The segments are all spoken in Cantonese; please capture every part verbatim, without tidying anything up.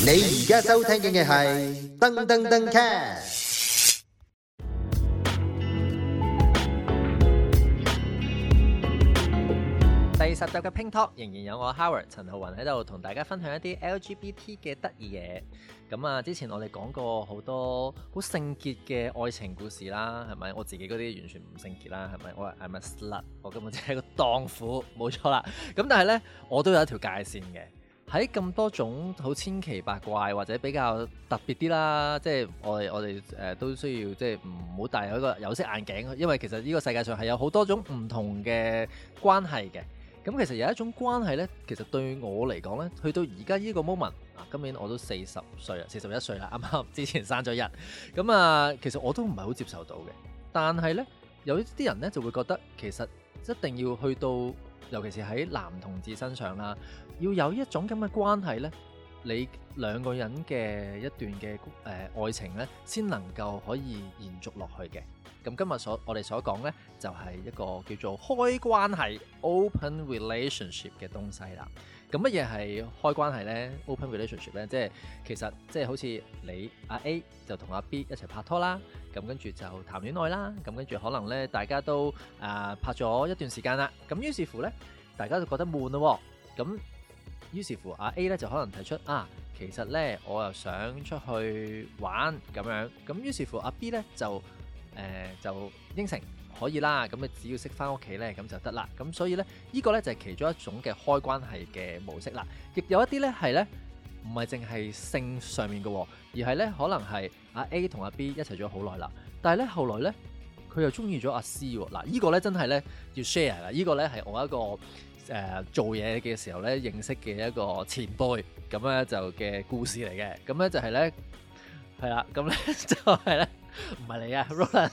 你而家收聽嘅係噔噔噔 cast。 第十集嘅 Pink Talk 仍然有我 Howard 陳浩雲喺度同大家分享一啲 L G B T 嘅得意嘢。咁啊，之前我哋講過好多好聖潔嘅愛情故事啦，係咪？我自己嗰啲完全唔聖潔啦，係咪？我係 I'm a slut，我根本就係個蕩婦，冇錯啦。咁但係呢，我都有一條界線嘅。喺咁多種好千奇百怪或者比較特別啲啦，即係我哋我哋誒、呃、都需要即係唔好戴一個有色眼鏡，因為其實呢個世界上係有好多種唔同嘅關係嘅。咁其實有一種關係呢，其實對我嚟講呢，去到而家呢個 moment 啊，今年我都四十歲啦，四十一歲啦，啱啱之前生咗日，咁啊，其實我都唔係好接受到嘅。但係呢，有啲人呢就會覺得其實一定要去到，尤其是喺男同志身上啦，要有一種咁嘅關係呢，你兩個人嘅一段嘅誒、呃、愛情呢，先能夠可以延續落去嘅。咁今日所我哋所講呢，就係、是、一個叫做開關係 open relationship 嘅東西啦。咁乜嘢係開關係呢？ open relationship 呢，即係其實即係好似你阿 A 就同阿 B 一齊拍拖啦，咁跟住就談戀愛啦，咁跟住可能呢，大家都啊、呃、拍咗一段時間啦，咁於是乎呢，大家就覺得悶咯，咁於是乎阿 A 呢就可能提出啊，其實呢，我又想出去玩咁樣，咁於是乎阿 B 呢就誒、呃、就應承可以啦，咁你只要識翻屋企咧，咁就得啦。咁所以咧，呢、這個咧就係其中一種嘅開關係嘅模式啦。亦有一啲咧係咧唔係淨係性上面嘅，而係咧可能係阿 A 同阿 B 一齊咗好耐啦，但係咧後來咧佢又中意咗阿 C 喎。嗱，呢個咧真係咧要 share 啦。呢個咧係我一個誒、呃、做嘢嘅時候咧認識嘅一個前輩咁咧就嘅故事嚟嘅。咁咧就係咧係啦，咁咧就係咧。唔係你啊 Roland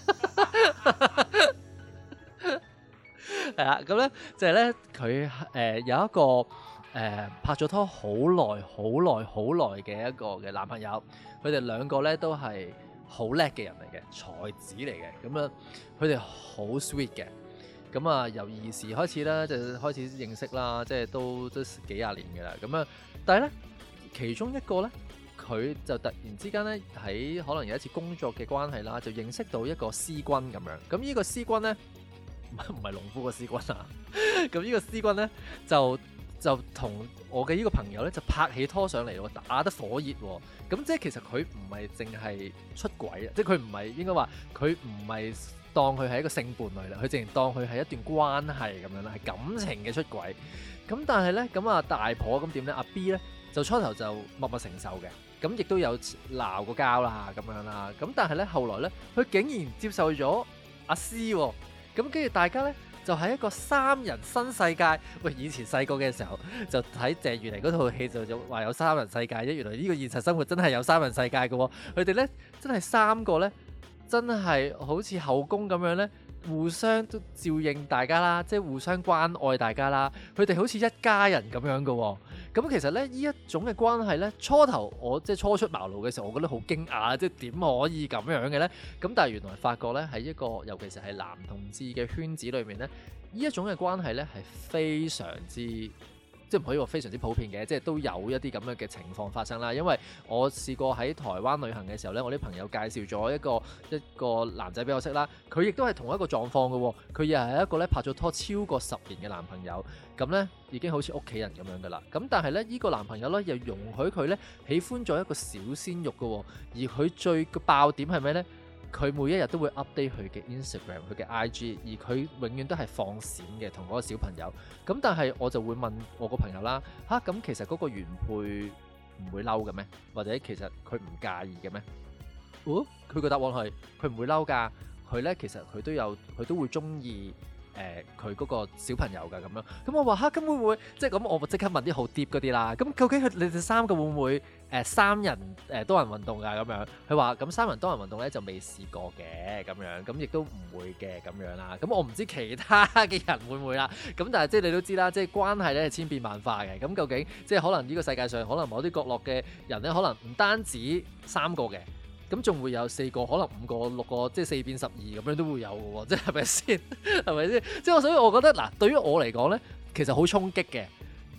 係啦，咁咧就係咧佢誒有一個誒、呃、拍咗拖好耐、好耐、好耐嘅一個嘅男朋友，佢哋兩個咧都係好叻嘅人嚟嘅，才子嚟嘅，咁樣佢哋好 sweet 嘅，咁啊由兒時開始咧就開始認識啦，即係都都幾廿年嘅啦，咁啊，但係咧其中一個咧。佢就突然之間咧喺可能有一次工作嘅關係啦，就認識到一個師君咁樣。咁呢個師君咧唔係唔係農夫個師君啊。咁呢個師君咧就就同我嘅呢個朋友咧就拍起拖上嚟喎，打得火熱喎。咁即係其實佢唔係淨係出軌啊，即係佢唔係應該話佢唔係當佢係一個性伴侶啦，佢淨係當佢係一段關係咁樣啦，係感情嘅出軌。咁但係咧咁啊大婆咁點咧？阿 B 咧就初頭就默默承受嘅。咁亦都有鬧過交啦，咁樣啦。咁但係咧，後來咧，佢竟然接受咗阿 C 喎。咁跟住大家咧，就喺一個三人新世界。喂，以前細個嘅時候就睇鄭裕玲嗰套戲就就話有三人世界啫。原來呢個現實生活真係有三人世界嘅喎。佢哋咧真係三個咧，真係好似後宮咁樣咧，互相都照應大家啦，即係互相關愛大家啦。佢哋好似一家人咁樣嘅喎。咁其實咧，呢一種嘅關係咧，初頭我即係初出茅廬嘅時候，我覺得好驚訝，即係點可以咁樣嘅咧？咁但係原來發覺咧，喺一個尤其是係男同志嘅圈子裏面咧，呢一種嘅關係咧係非常之。即係唔可以話非常之普遍嘅，即係都有一啲咁樣嘅情況發生啦。因為我試過喺台灣旅行嘅時候咧，我啲朋友介紹咗一個一個男仔俾我識啦，佢亦都係同一個狀況嘅喎。佢又係一個咧拍咗拖超過十年嘅男朋友，咁咧已經好似屋企人咁樣噶啦。咁但係咧，呢個男朋友咧又容許佢咧喜歡咗一個小鮮肉嘅喎，而佢最嘅爆點係咩咧？佢每一日都會 update 佢嘅 Instagram、佢嘅 I G， 而佢永遠都係放閃嘅同嗰個小朋友。咁但係我就會問我個朋友啦，吓、啊、咁其實嗰個原配唔會嬲嘅咩？或者其實佢唔介意嘅咩？哦，佢個答案係佢唔會嬲㗎。佢咧其實佢都有佢都會中意。誒佢嗰個小朋友㗎咁樣，咁我話嚇，咁會唔會即係咁？我即刻問啲好 deep 嗰啲啦。咁究竟佢你哋三個會唔會誒、呃、三人誒、呃、多人運動㗎咁樣？佢話咁三人多人運動咧就未試過嘅咁樣，咁亦都唔會嘅咁樣啦。咁我唔知其他嘅人會唔會啦。咁但係即係你都知啦，即係關係咧係千變萬化嘅。咁究竟即係可能呢個世界上可能某啲角落嘅人咧，可能唔單止三個嘅。咁仲會有四個，可能五個、六個，即係四變十二咁樣都會有嘅喎，即係咪先？係咪先？即係所以我覺得嗱，對於我嚟講咧，其實好衝擊嘅。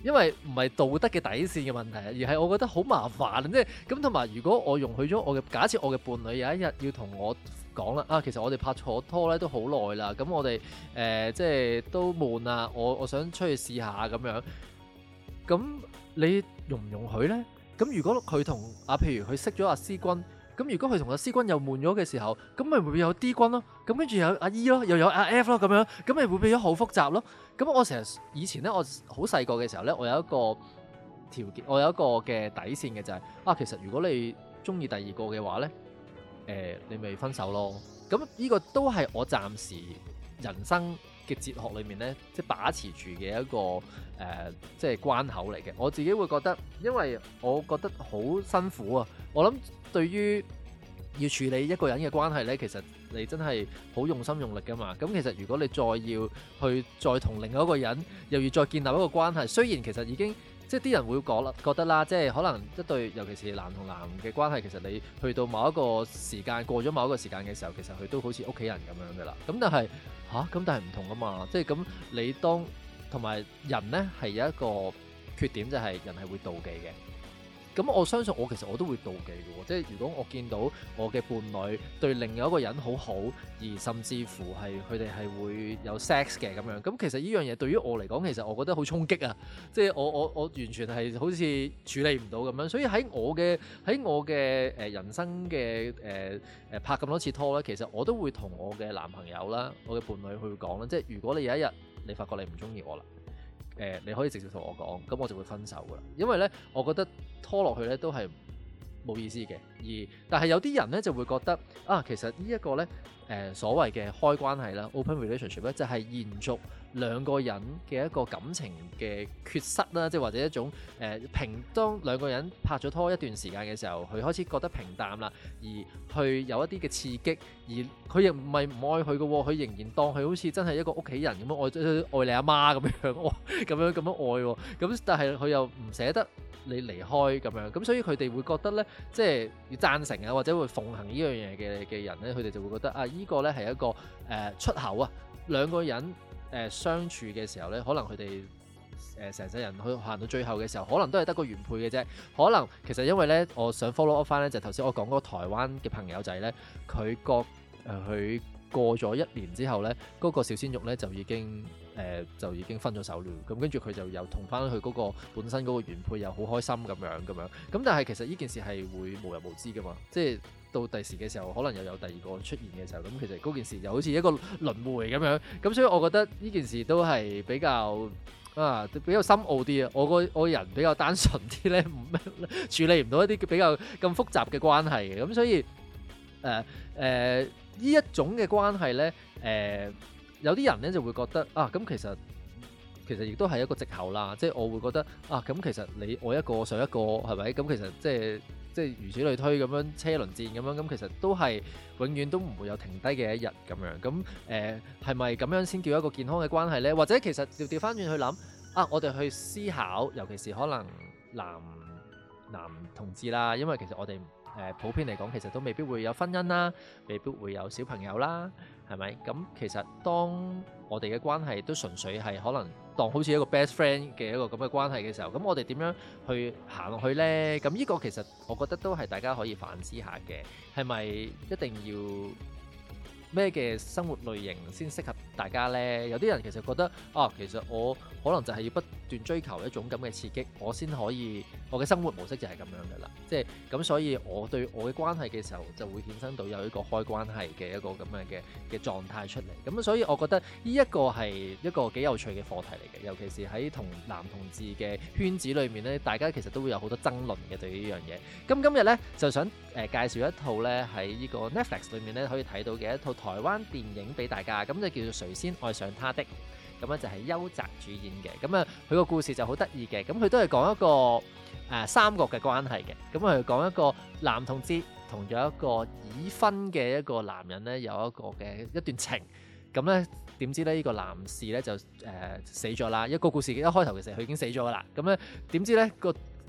因為唔係道德嘅底線嘅問題，而係我覺得好麻煩，即係咁。同埋如果我容許咗我嘅假設，我嘅伴侶有一日要同我講啦，啊其實我哋拍錯拖咧都好耐啦，咁我哋誒、呃、即係都悶啊，我我想出去試下咁樣，咁你容唔容許咧？咁如果佢同啊譬如佢識咗阿 C 君，咁如果佢同阿 C 君又悶咗嘅時候，咁咪會有 D 君咯，咁跟住有阿 E 咯，又有阿 F 咯，咁樣咁咪會變咗好複雜咯。咁我成日以前咧，我好細個嘅時候咧，我有一個條件，我有一個嘅底線嘅就係、是、啊，其實如果你中意第二個嘅話咧，誒、呃、你咪分手咯。咁呢個都係我暫時人生嘅哲學裏面咧，即係把持住嘅一個誒、呃，即係關口嚟嘅。我自己會覺得，因為我覺得好辛苦啊。我諗對於要處理一個人嘅關係咧，其實你真係好用心用力㗎嘛。咁其實如果你再要去再同另外一個人，又要再建立一個關係，雖然其實已經即係啲人會講啦，覺得啦，即係可能一對尤其是男同男嘅關係，其實你去到某一個時間，過咗某一個時間嘅時候，其實佢都好似屋企人咁樣㗎啦。咁但係吓，咁但係唔同㗎嘛。即係咁你當同埋人咧係有一個缺點，就係人係會妒忌嘅。咁我相信我其實我都會妒忌嘅喎，即係如果我見到我嘅伴侶對另外一個人好好，而甚至乎係佢哋係會有 sex 嘅咁樣，咁其實呢樣嘢對於我嚟講，其實我覺得好衝擊啊！即係我我我完全係好似處理唔到咁樣，所以喺我嘅喺我嘅誒人生嘅誒誒拍咁多次拖咧，其實我都會同我嘅男朋友啦、我嘅伴侶去講啦，即係如果你有一日你發覺你唔中意我啦。誒、呃，你可以直接同我講，咁我就會分手噶啦。因為咧，我覺得拖落去咧都係冇意思嘅。而但係有啲人咧就會覺得啊，其實呢一個咧誒、呃、所謂嘅開關係啦 ，open relationship 咧就係延續兩個人嘅一個感情嘅缺失啦，即係或者一種誒、呃、平當兩個人拍咗拖一段時間嘅時候，佢開始覺得平淡啦，而去有一啲嘅刺激，而佢亦唔係唔愛佢嘅喎，佢仍然當佢好似真係一個屋企人咁樣愛愛你阿媽咁樣，愛咁樣咁樣愛喎，咁但係佢又唔捨得你離開咁樣，咁所以佢哋會覺得咧，即係要贊成啊，或者會奉行呢樣嘢嘅嘅人咧，佢哋就會覺得啊，依、這個咧係一個誒、呃、出口啊，兩個人。誒、呃、相處嘅時候咧，可能佢哋誒成世人去行到最後嘅時候，可能都係得個原配嘅啫。可能其實因為咧，我想 follow up 翻咧，就頭先我講嗰個台灣嘅朋友仔咧，佢個誒佢過咗一年之後咧，嗰、那個小鮮肉咧就已經誒、呃、就已經分咗手了。咁跟住佢就又同翻佢嗰個本身嗰個原配又好開心咁樣咁樣。咁但係其實呢件事係會無人無知噶嘛，即係。到第時嘅時候，可能又有第二個出現嘅時候，咁其實嗰件事就好似一個輪迴咁樣，咁所以我覺得呢件事都係比較啊比較深奧啲啊。我個我個人比較單純啲咧，唔處理唔到一啲比較咁複雜嘅關係嘅，咁所以誒誒呢一種嘅關係咧，誒、呃、有啲人咧就會覺得啊，咁其實其實亦都係一個藉口啦，即係我會覺得啊，咁其實你愛一個上一個係咪？咁其實即係。即係如此類推咁樣車輪戰咁樣，咁其實都係永遠都唔會有停低嘅一日咁樣。咁誒係咪咁樣先叫一個健康嘅關係呢？或者其實調調翻轉去諗啊，我哋去思考，尤其是可能男男同志啦，因為其實我哋誒、呃、普遍嚟講，其實都未必會有婚姻啦，未必會有小朋友啦，係咪？咁其實當我哋嘅關係都純粹係可能當好似一個 best friend 嘅一個咁嘅關係嘅時候，咁我哋點樣去行落去呢？咁呢個其實我覺得都係大家可以反思下嘅，係咪一定要咩嘅生活類型先適合大家呢？有啲人其實覺得啊，其實我可能就係要不斷追求一種咁嘅刺激，我先可以我嘅生活模式就係咁樣噶啦。即係咁，所以我對我嘅關係嘅時候就會衍生到有一個開關係嘅一個咁樣嘅嘅狀態出嚟。咁所以我覺得呢一個係一個幾有趣嘅課題嚟嘅，尤其是喺同男同志嘅圈子裏面咧，大家其實都會有好多爭論嘅對於呢樣嘢。咁今日咧就想誒、呃、介紹一套咧喺呢個 Netflix 裏面咧可以睇到嘅一套台灣電影俾大家，咁就叫做誰先愛上他的。咁咧就係邱澤主演嘅，咁啊佢個故事就好得意嘅，咁佢都係講一個誒、呃、三角嘅關係嘅，咁佢講一個男同志同咗一個已婚嘅一個男人咧有一個嘅一段情，咁咧點知咧呢、這個男士咧就誒、呃、死咗啦，一個故事一開頭其實佢已經死咗噶啦，咁咧點知咧個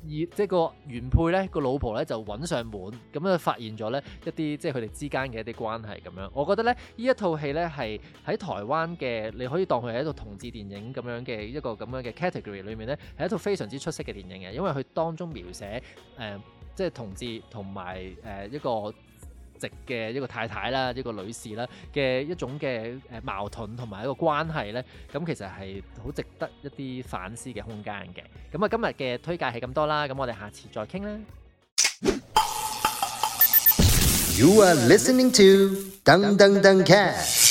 即係個原配咧個老婆咧就揾上門，咁啊發現咗咧一啲即係佢哋之間嘅一啲關係咁樣。我覺得咧呢一套戲咧係喺台灣嘅，你可以當佢係一套同志電影咁樣嘅一個咁樣嘅 category 裏面咧，係一套非常之出色嘅電影嘅，因為佢當中描寫誒、呃、即係同志同埋誒一個直嘅一個太太啦，一個女士啦嘅一種嘅誒矛盾同埋一個關係咧，咁其實係好值得一啲反思嘅空間嘅。咁啊，今日嘅推介係咁多啦，咁我哋下次再傾啦。 You are listening to Dang Dang Dang Cat。